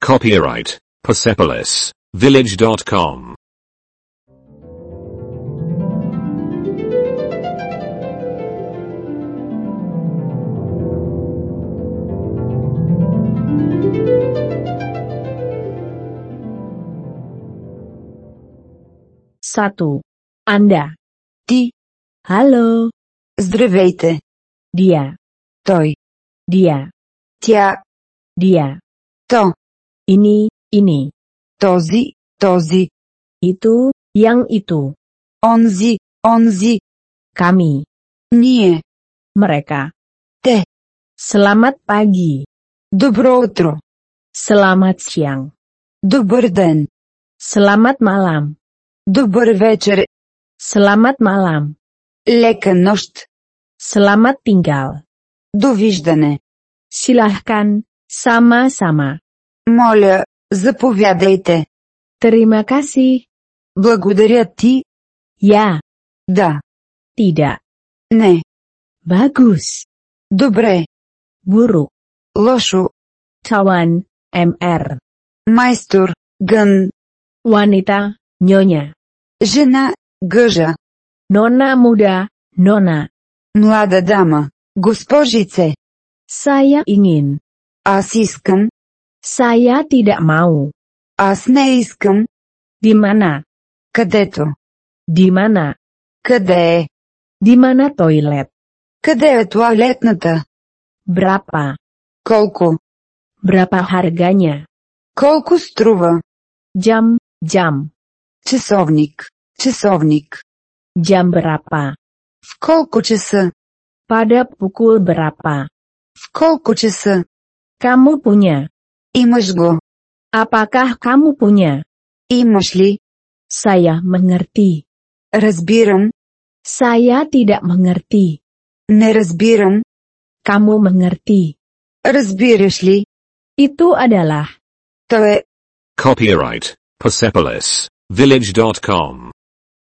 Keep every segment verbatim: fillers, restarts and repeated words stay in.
Copyright Persepolis Village dot com. Satu. Anda. Ти. Halo. Здравейте. Dia. Той. Dia. Тя. Dia. То. Ini, ini. Този, този. Itu, yang itu. Онзи, онзи. Kami. Ние. Mereka. Те. Selamat pagi. Добро утро. Selamat siang. Добър ден. Selamat malam. Добър вечер. Selamat malam. Лека нощ. Selamat tinggal. Довиждане. Silahkan, sama-sama. Моля, заповядайте. Terima kasih. Благодаря ти. Ya. Да. Tidak. Не. Bagus. Добре. Buruk. Лошо. Tawan, M R. Майстор. Гън. Wanita, nyonya. Жена. Гъжа. Nona muda, nona. Млада дама. Госпожице. Saya ingin. Аз искам. Saya tidak mau. Аз не искам. Di mana? Където. Di mana? Къде е? Di mana toilet? Къде е тоалетната? Berapa? Колко? Berapa harganya? Колко струва? Jam, jam. Часовник. Часовник. Jam berapa? В колко часа? Pada pukul berapa? В колко часа? Kamu punya? Имаш го. Apakah kamu punya? Имаш ли? Saya mengerti. Разбирам. Saya tidak mengerti. Не разбирам. Kamu mengerti. Разбираш ли? Itu adalah. То е. Copyright Persepolis Village dot com.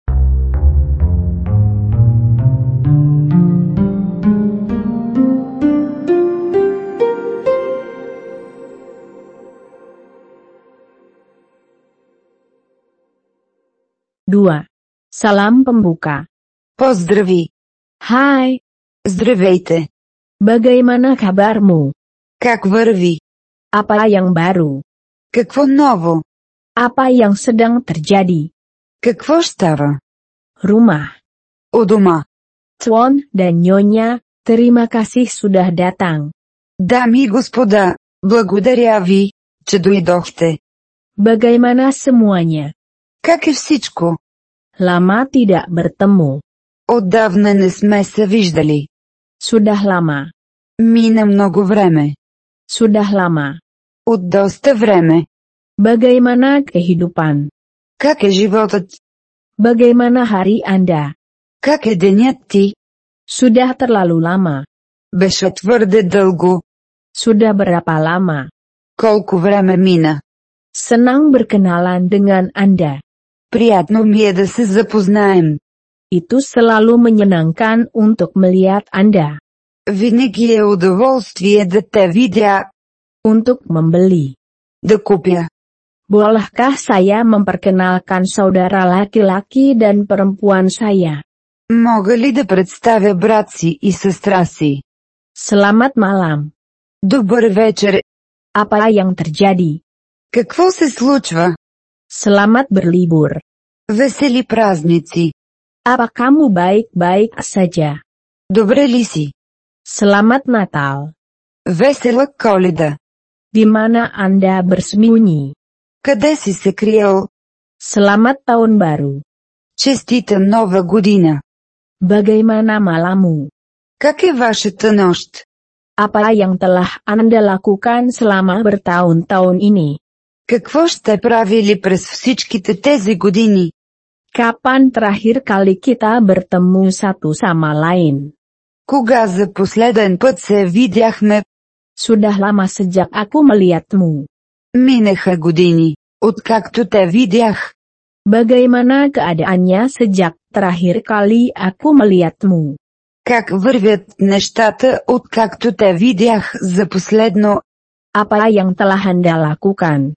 Dua. Salam pembuka. Поздрави. Hai. Здравейте. Bagaimana kabarmu? Как върви? Apa yang baru? Какво ново? Apa yang sedang terjadi? Какво става? Rumah. У дома. Tuan dan Nyonya, terima kasih sudah datang. Дами и господа, благодаря ви, че дойдохте. Bagaimana semuanya? Как е всичко? Lama tidak bertemu. Отдавна не сме се виждали. Sudah lama. Мина много време. Sudah lama. От доста време. Bagaimana kehidupan? Как е животът? Bagaimana hari Anda? Как е денят ти? Sudah terlalu lama. Беше твърде дълго. Sudah berapa lama? Колко време мина? Senang berkenalan dengan Anda. Приятно ми е да се запознаем. Itu selalu menyenangkan untuk melihat Anda. Винаги е удоволствие да те видя. Untuk membeli. Да купя. Bolehkah saya memperkenalkan saudara laki-laki dan perempuan saya? Мога ли да представя брат си и сестра си? Selamat malam. Добър вечер. Apa yang terjadi? Какво се случва? Selamat berlibur. Весели празници. Apa kamu baik-baik saja? Добре ли си? Selamat Natal. Весела Коледа. Di mana Anda bersembunyi? Къде си се криел? Selamat tahun baru. Честита нова година. Bagaimana malammu? Как е вашата нощ? Apa yang telah Anda lakukan selama bertahun-tahun ini? Какво сте правили през всичките тези години? Kapan terakhir kali kita bertemu satu sama lain? Кога за последен път се видяхме? Sudah lama sejak aku melihatmu. Минаха години, откакто те видях. Bagaimana keadaannya sejak terakhir kali aku melihatmu? Как вървят нещата, откакто те видях за последно? Apa yang telah Anda lakukan?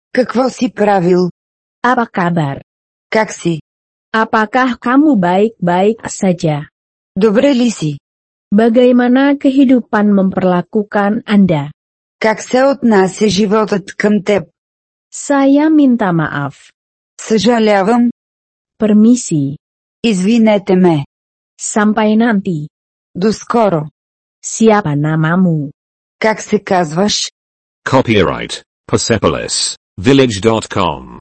Какво си правил? Apa kabar? Как си? Apakah kamu baik-baik saja? Добре ли си? Bagaimana kehidupan memperlakukan Anda? Как се отнася животът към теб? Saya minta maaf. Съжалявам. Permisi. Извинете ме. Sampai nanti. До скоро. Siapa namamu? Как се казваш? Copyright Persepolis Village dot com.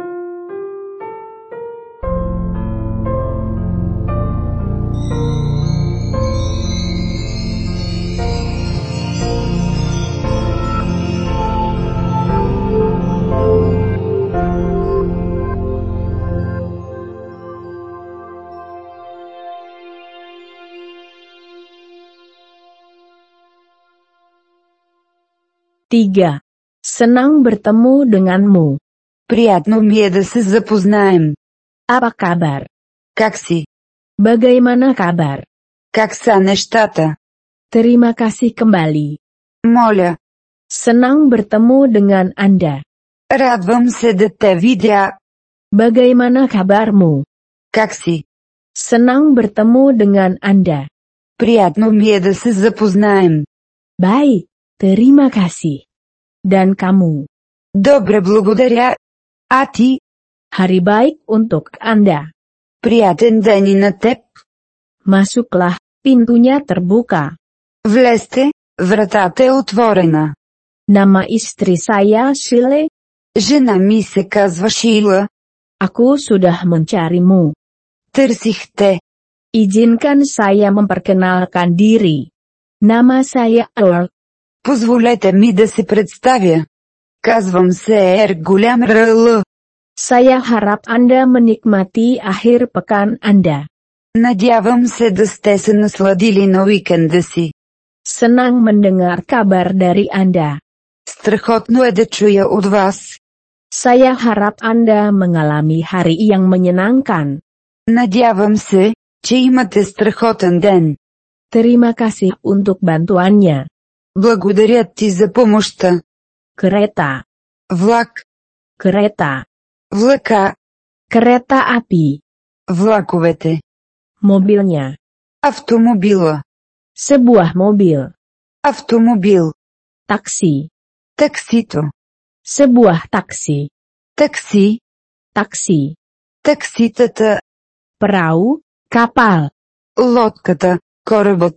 Tiga. Senang bertemu denganmu. Приятно ми е да се запознаем. Apa kabar? Как си? Bagaimana kabar? Как са нещата? Terima kasih kembali. Моля. Senang bertemu dengan Anda. Радвам се да те видя. Bagaimana kabarmu? Как си? Senang bertemu dengan Anda. Приятно ми е да се запознаем. Baik, terima kasih. Dan kamu? Добре, благодаря. А ти? Hari baik untuk Anda. Приятен ден и на теб. Masuklah, pintunya terbuka. Влезте, вратата е отворена. Nama istri saya Shile. Жена ми се казва Шила. Aku sudah mencarimu. Търсих те. Izinkan saya memperkenalkan diri. Nama saya Earl. Позволете ми да се представя. Казвам се Ер Голям Ръл. Saya harap Anda menikmati akhir pekan Anda. Надявам се да сте се насладили на уикенда си. Senang mendengar kabar dari Anda. Страхотно е да чуя от вас. Saya harap Anda mengalami hari yang menyenangkan. Надявам се, че имате страхотен ден. Terima kasih untuk bantuannya. Благодаря ти за помощта. Kereta. Влак. Kereta. Влака. Kereta api. Влаковете. Mobilnya. Автомобила. Sebuah mobil. Автомобил. Taksi. Таксито. Sebuah taksi. Такси. Taksi. Такситата. Perahu, kapal. Лодката. Корабът.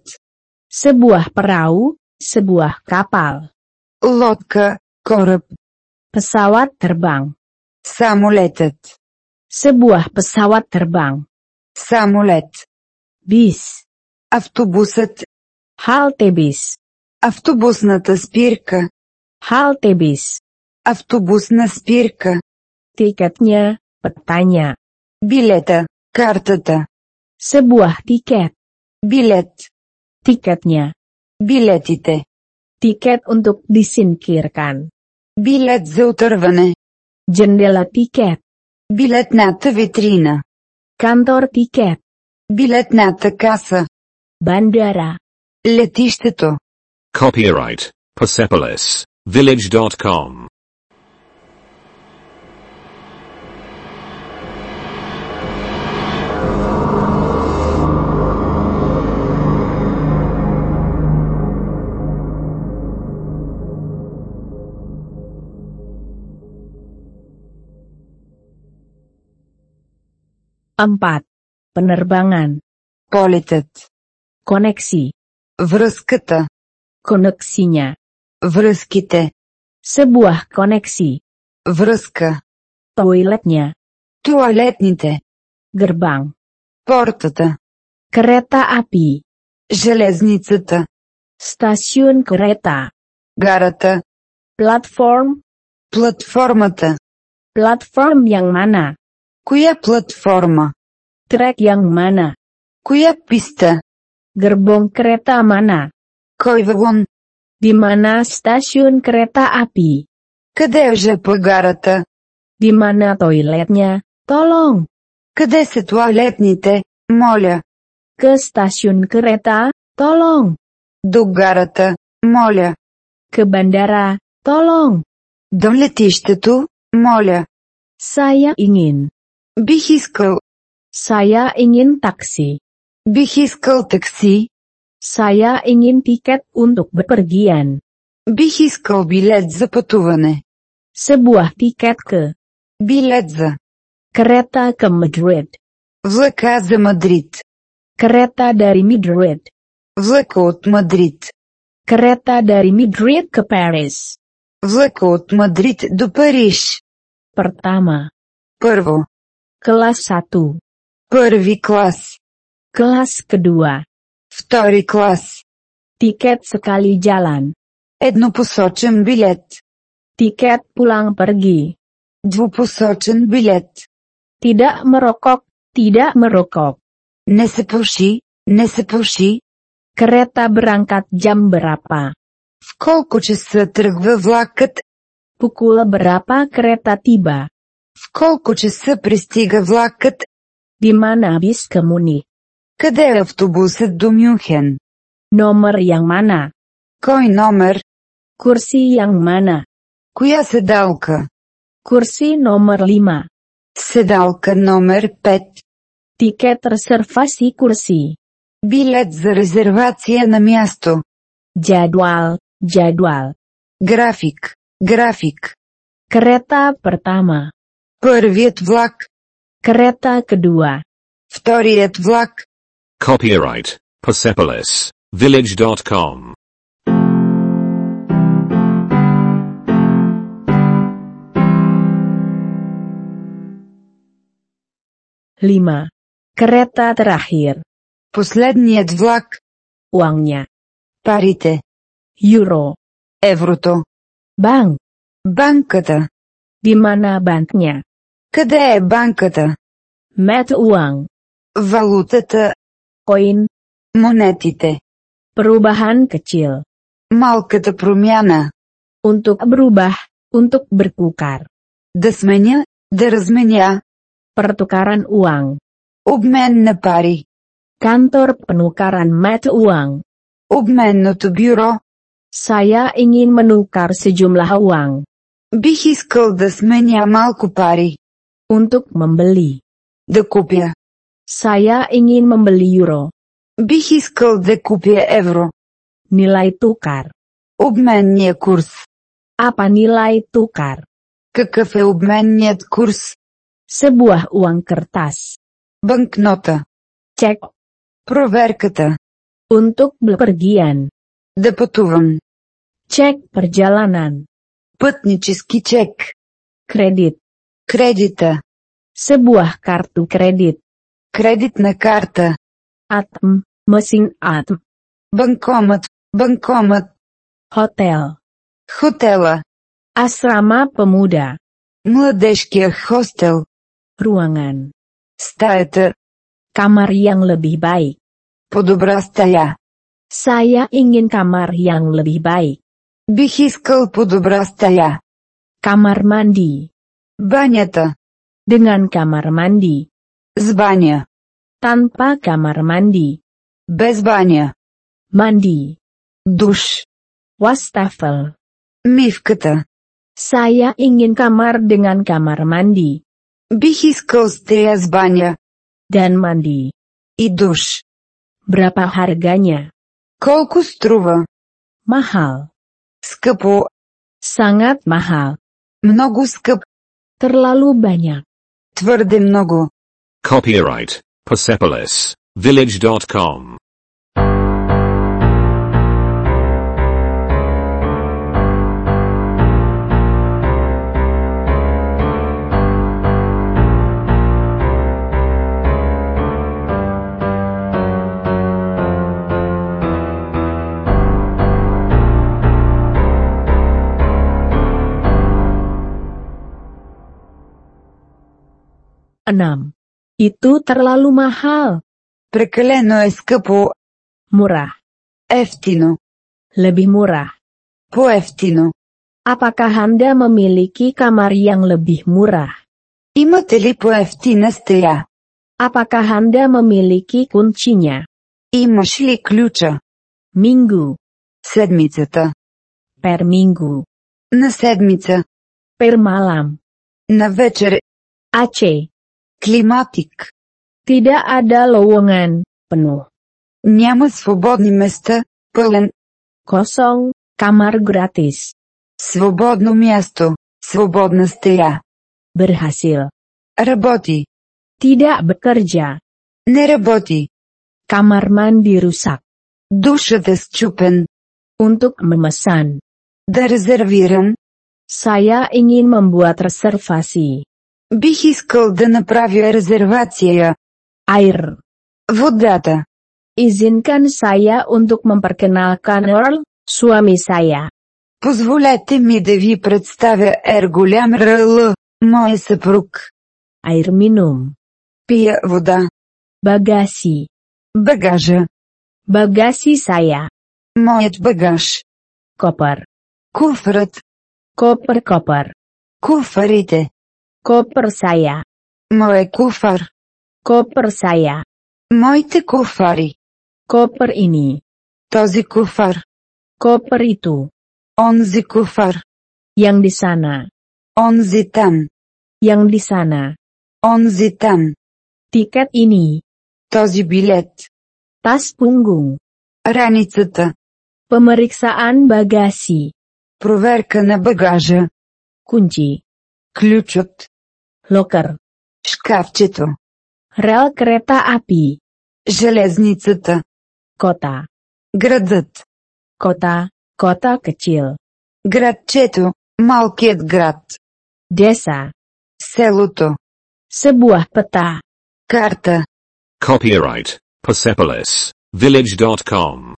Sebuah perahu, sebuah kapal. Лодка. Кораб. Pesawat terbang. Самолетът. Sebuah pesawat terbang. Самолет. Bis. Автобусът. Halte bis. Автобусната спирка. Halte bis. Автобусна спирка. Tiketnya, petanya. Билета. Картата. Sebuah tiket. Билет. Tiketnya. Билетите. Tiket untuk disingkirkan. Билет за отърване. Jendela tiket. Билетната витрина. Kantor tiket. Билетната каса. Bandara. Летището. Copyright Persepolis Village dot com. Empat. Penerbangan. Полетът. Koneksi. Връзката. Koneksinya. Връзките. Sebuah koneksi. Връзка. Toiletnya. Туалетните. Gerbang. Портата. Kereta api. Железницата. Stasiun kereta. Гарата. Platform. Платформата. Platform yang mana? Коя платформа? Trek yang mana? Коя писта? Gerbong kereta mana? Кой вагон? Di mana stasiun kereta api? Къде е жп гарата? Di mana toiletnya? Tolong. Къде са туалетните? Моля. Ke stasiun kereta? Tolong. До гарата. Моля. Ke bandara? Tolong. До летището. Моля. Saya ingin. Бих искал. Saya ingin taksi. Бих искал такси. Saya ingin tiket untuk bepergian. Бих искал билет за пътуване. Sebuah tiket ke. Билет за. Kereta ke Madrid. Влака за Мадрид. Kereta dari Madrid. Влака от Мадрид. Kereta dari Madrid ke Paris. Влака от Мадрид до Париж. Pertama. Първо. Kelas satu. Първи клас. Kelas kedua. Втори клас. Tiket sekali jalan. Еднопосочен билет. Tiket pulang pergi. Двупосочен билет. Tidak merokok, tidak merokok. Не се пуши, не се пуши. Kereta berangkat jam berapa? В колко часа тръгва влакът? Pukul berapa kereta tiba? В колко часа пристига влакът? Di mana bis ke Munich? Къде е автобусът до Мюнхен? Nomor yang mana? Кой номер? Kursi yang mana? Коя седалка? Kursi nomor lima. Седалка номер пет. Tiket reservasi kursi. Билет за резервация на място. Jadwal, jadwal. График, график. Kereta pertama. Първият влак. Kereta kedua. Вторият влак. Copyright Persepolis Village dot com. lima. Kereta terakhir. Последният влак. Uangnya. Парите. Euro. Еврото. Bank. Банката. Di mana banknya? Къде е банката? Mata uang. Валутата. Koin. Монетите. Perubahan kecil. Малката промяна. Untuk berubah, untuk bertukar. Да сменя, да разменя. Pertukaran uang. Обмен на пари. Kantor penukaran mata uang. Обменното бюро. Saya ingin menukar sejumlah uang. Бих искал да сменя малко пари. Untuk membeli. Да купя. Saya ingin membeli euro. Бих искал да купя евро. Nilai tukar. Обменния курс. Apa nilai tukar? Какъв е обменният курс? Sebuah uang kertas. Банкнота. Cek. Проверката. Untuk bepergian. Да пътувам. Cek perjalanan. Пътнически чек. Kredit. Кредита. Sebuah kartu kredit. Кредитна карта. A T M, mesin A T M. Банкомат. Банкомат. Hotel. Хотела. Asrama pemuda. Младежкия хостел. Ruangan. Стаята. Kamar yang lebih baik. По-добра стая. Saya ingin kamar yang lebih baik. Бих искал по-добра стая. Kamar mandi. Банята. Dengan kamar mandi. С баня. Tanpa kamar mandi. Без баня. Mandi. Душ. Wastafel. Мивката. Saya ingin kamar dengan kamar mandi. Бих искал стая с баня. Dan mandi. И душ. Berapa harganya? Колко струва? Mahal. Скъпо. Sangat mahal. Много скъп. Terlalu banyak. Твърде много. Copyright Persepolis Village dot com. enam. Itu terlalu mahal. Прекалено е скъпо. Murah. Ефтино. Lebih murah. По-ефтино. Apakah Anda memiliki kamar yang lebih murah? Имате ли по-ефтина стая? Apakah Anda memiliki kuncinya? Имаш ли ключа? Minggu. Седмицата. Per minggu. На седмица. Per malam. На вечер. A C. Климатик. Tidak ada lowongan, penuh. Няма свободни места, пълен. Kosong, kamar gratis. Свободно място, свободна стая. Berhasil. Работи. Tidak bekerja. Не работи. Kamar mandi rusak. Душът е счупен. Untuk memesan. Да резервирам. Saya ingin membuat reservasi. Бих искал да направя резервация. Air. Водата. Izinkan saya untuk memperkenalkan Earl, suami saya. Позволете ми да ви представя Ер голям Р.Л., моя съпруг. Air minum. Пия вода. Bagasi. Багажа. Bagasi saya. Моят багаж. Koper. Куфърът. Koper-koper. Куфарите. Koper saya. Моя куфар. Koper saya. Моите куфари. Koper ini. Този куфар. Koper itu. Онзи куфар. Yang di sana. Онзи там. Yang di sana. Онзи там. Tiket ini. Този билет. Tas punggung. Раницата. Pemeriksaan bagasi. Проверка на багажа. Kunci. Ключът. Loker. Шкафчето. Rel kereta api. Железницата. Kota. Градът. Kota, kota kecil. Градчето. Малкият град. Desa. Селото. Sebuah peta. Карта. Copyright Persepolis Village dot com.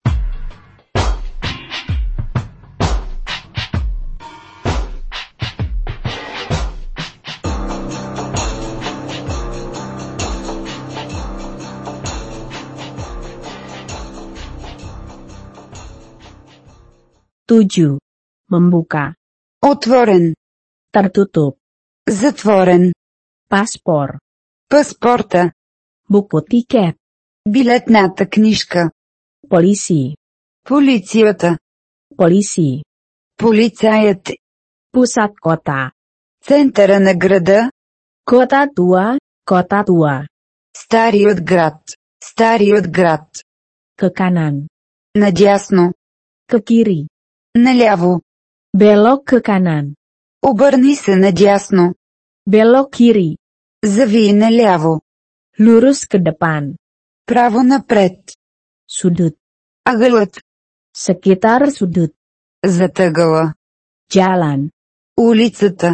Tujuh. Membuka. Отворен. Tertutup. Затворен. Paspor. Паспорта. Buku tiket. Билетната книжка. Polisi. Полицията. Polisi. Полицаят. Pusat kota. Центъра на града. Kota tua, kota tua. Старият град. Старият град. Ke kanan. Надясно. Ke kiri. Наляво. Belok ke kanan. Обърни се надясно. Belok kiri. Зави наляво. Lurus ke depan. Право напред. Sudut. Ъгълът. Sekitar sudut. Зад ъгъла. Jalan. Улицата.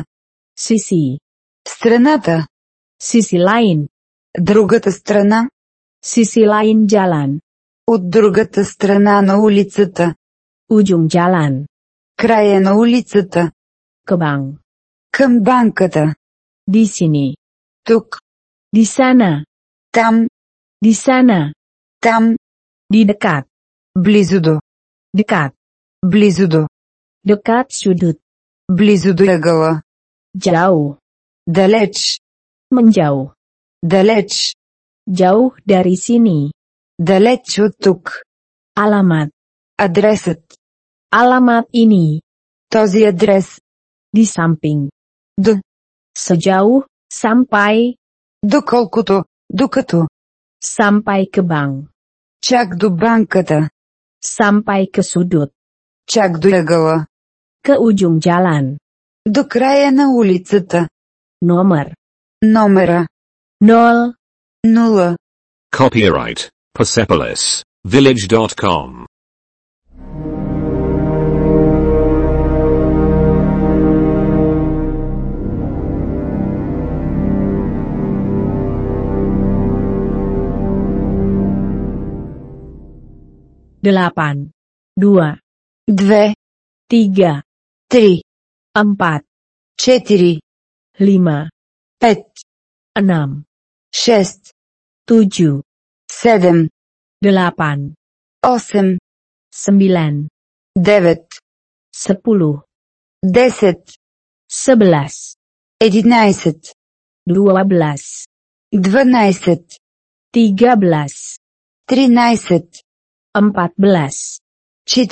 Sisi. Страната. Sisi lain. Другата страна. Sisi lain jalan. От другата страна на улицата. Ujung jalan. Края на улицата. Ke bank. Към банката. Di sini. Тук. Di sana. Там. Di sana. Там. Di dekat. Близо до. Dekat. Близо до. Dekat sudut. Близо до ъгъла. Jauh. Далеч. Menjauh. Далеч. Jauh dari sini. Далеч от тук. Alamat. Адресът. Alamat ini. Този адрес. Di samping. До. Sejauh, sampai, Доколкото. Докато. sampai ke bank. Чак до банката. Sampai ke sudut. Чак до ъгъла. Ke ujung jalan. До края на улицата. Nomor. Номера. Nol. Нула. Copyright Persepolis Village dot com. Delapan. Dua. Две. Tiga. Три. Empat. Четири. Lima. Пет. Enam. Шест. Tujuh. Седем. Delapan. Осем. Sembilan. Девет. Sepuluh. Десет. Sebelas. Единайсет. Dua belas. Дванайсет. Tiga belas. Тринайсет. Empat belas.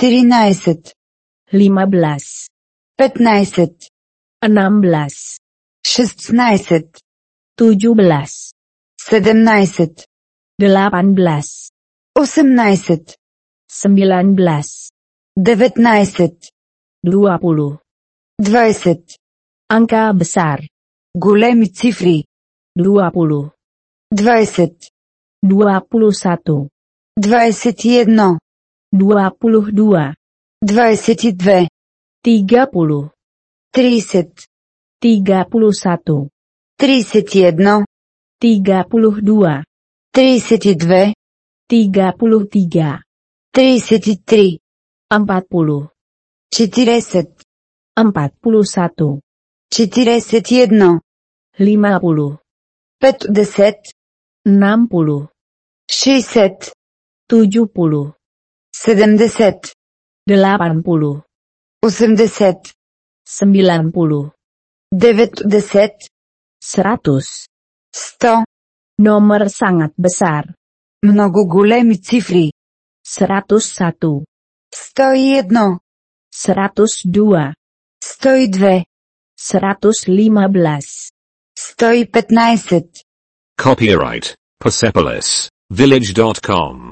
Четиринайсет. Lima belas. Петнайсет. Enam belas. шестнадцать, tujuh belas, семнадцать, delapan belas, восемнадцать, sembilan belas, девятнадцать, dua puluh. двадцать. Angka besar. Големи цифри. dua puluh, двадцать, dua puluh satu, двадцать едно, dua puluh dua, двадцать две, tiga puluh, тридцать, tiga puluh satu, тридцать едно, tiga puluh dua, тридцать две, tiga puluh tiga, тридцать три, empat puluh, четыридесять, empat puluh satu, четыридесять едно, lima puluh, петдесет, enam puluh, шестьдесят, tujuh puluh, седемдесет, delapan puluh, осемдесет, sembilan puluh, деветдесет, seratus. сто. Nomor sangat besar. Много големи цифри. seratus satu, сто едно, seratus dua, сто две, seratus lima belas. сто пятнадцать. Copyright Persepolis Village dot com.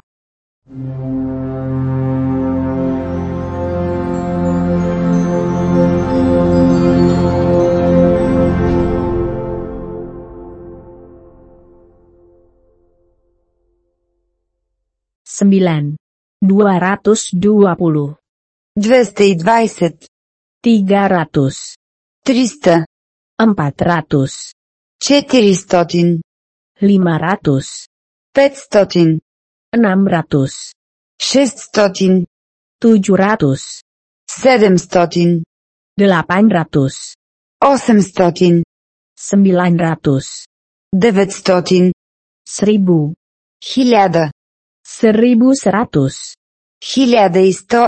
Sembilan. Dua ratus dua puluh. двести двадцать, Tiga ratus. триста, Empat ratus. четырестотин, Lima ratus. пятьстотин, Enam ratus. шестьстотин, Tujuh ratus. седемстотин, Delapan ratus. осемстотин, Sembilan ratus. деветстотин, Seribu. хиляда, Seribu seratus. хиляда и сто,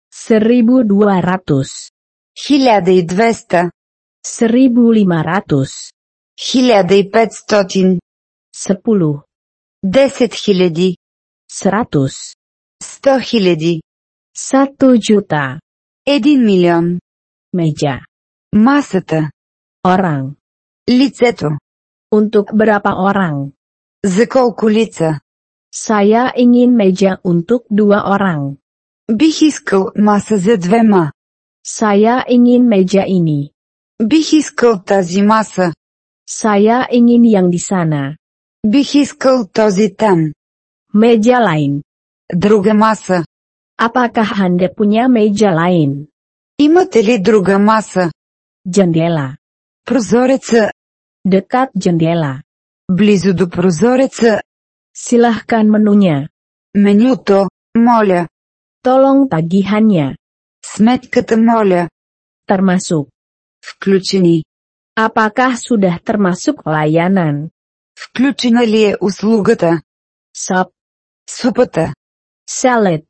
Seribu dua ratus. хиляда и двеста, Seribu lima ratus. хиляда и петстотин, Sepuluh. десет хиляди, Seratus. сто хиляди, Satu juta. един милион. Meja. Масата, Orang. лицето, Untuk berapa orang? за колко лица. Saya ingin meja untuk dua orang. Бих искал маса за двема. Saya ingin meja ini. Бих искал тази маса. Saya ingin yang di sana. Бих искал този там. Meja lain. Друга маса. Apakah Anda punya meja lain? Имате ли друга маса? Jendela. Прозореца. Dekat jendela. Близо до прозореца. Silahkan menunya. Менюто, моля. Tolong tagihannya. Сметката, моля. Termasuk. Включени. Apakah sudah termasuk layanan? Включена ли е услугата? Sop. Супата. Salad.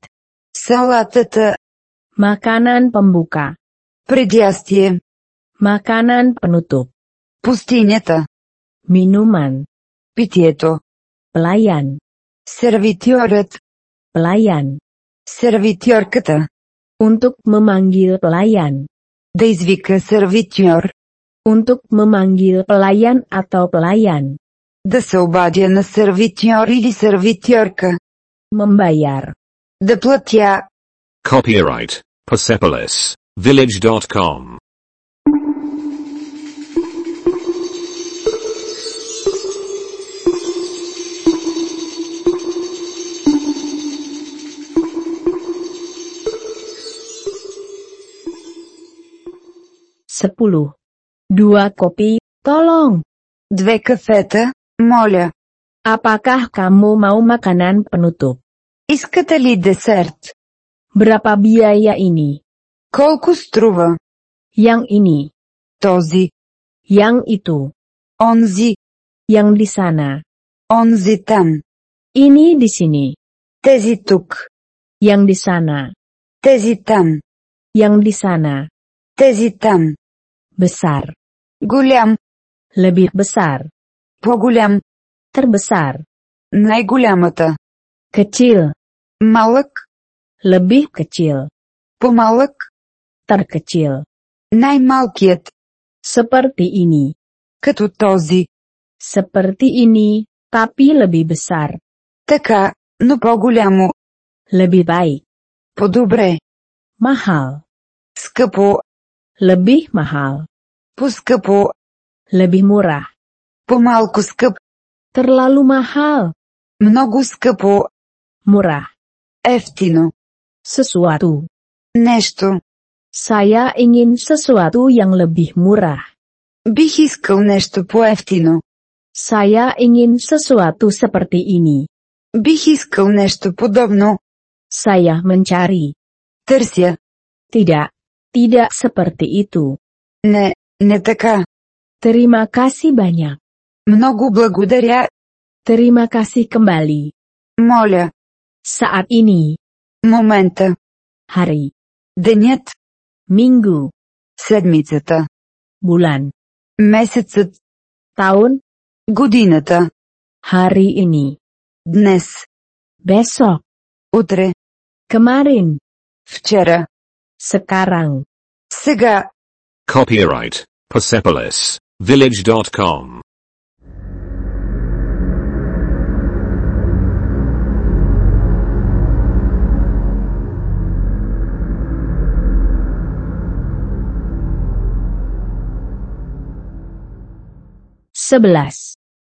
Салатата. Makanan pembuka. Предястие. Makanan penutup. Пустинята. Minuman. Питието. Pelayan. Сервитьорът. Pelayan. Сервитьорката. Untuk memanggil pelayan. Да извика сервитьор. Untuk memanggil pelayan atau pelayan. Да се обадя на сервитьор или сервитьорка. Membayar. Да платя. Copyright Persepolis Village dot com. Sepuluh. Dua kopi, tolong. Две кафета, моля. Apakah kamu mau makanan penutup? Искате ли десерт? Berapa biaya ini? Колко струва? Yang ini. Този. Yang itu. Онзи. Yang di sana. Онзи там. Ini di sini. Тези тук. Yang di sana. Тези там. Yang di sana. Тези там. Besar. Голям. Lebih besar. По-голям. Terbesar. Най-голямата. Kecil. Малък. Lebih kecil. По-малък. Terkecil. Най-малкият. Seperti ini. Като този. Seperti ini, tapi lebih besar. Така, но по-голямо. Lebih baik. По-добре. Mahal. Скъпо. Lebih mahal. По-скъпо. Lebih murah. По-малко скъп. Terlalu mahal. Много скъпо. Murah. Ефтино. Sesuatu. Нещо. Saya ingin sesuatu yang lebih murah. Бих искал нещо по-ефтино. Saya ingin sesuatu seperti ini. Бих искал нещо подобно. Saya mencari. Търся. Tidak. Tidak seperti itu. Не, не така. Terima kasih banyak. Много благодаря. Terima kasih kembali. Моля. Saat ini. Момента. Hari. Денят. Minggu. Седмицата. Bulan. Месецът. Tahun. Годината. Hari ini. Днес. Besok. Утре. Kemarin. Вчера. Sekarang. Сега. Copyright Persepolis Village dot com. Sebelas.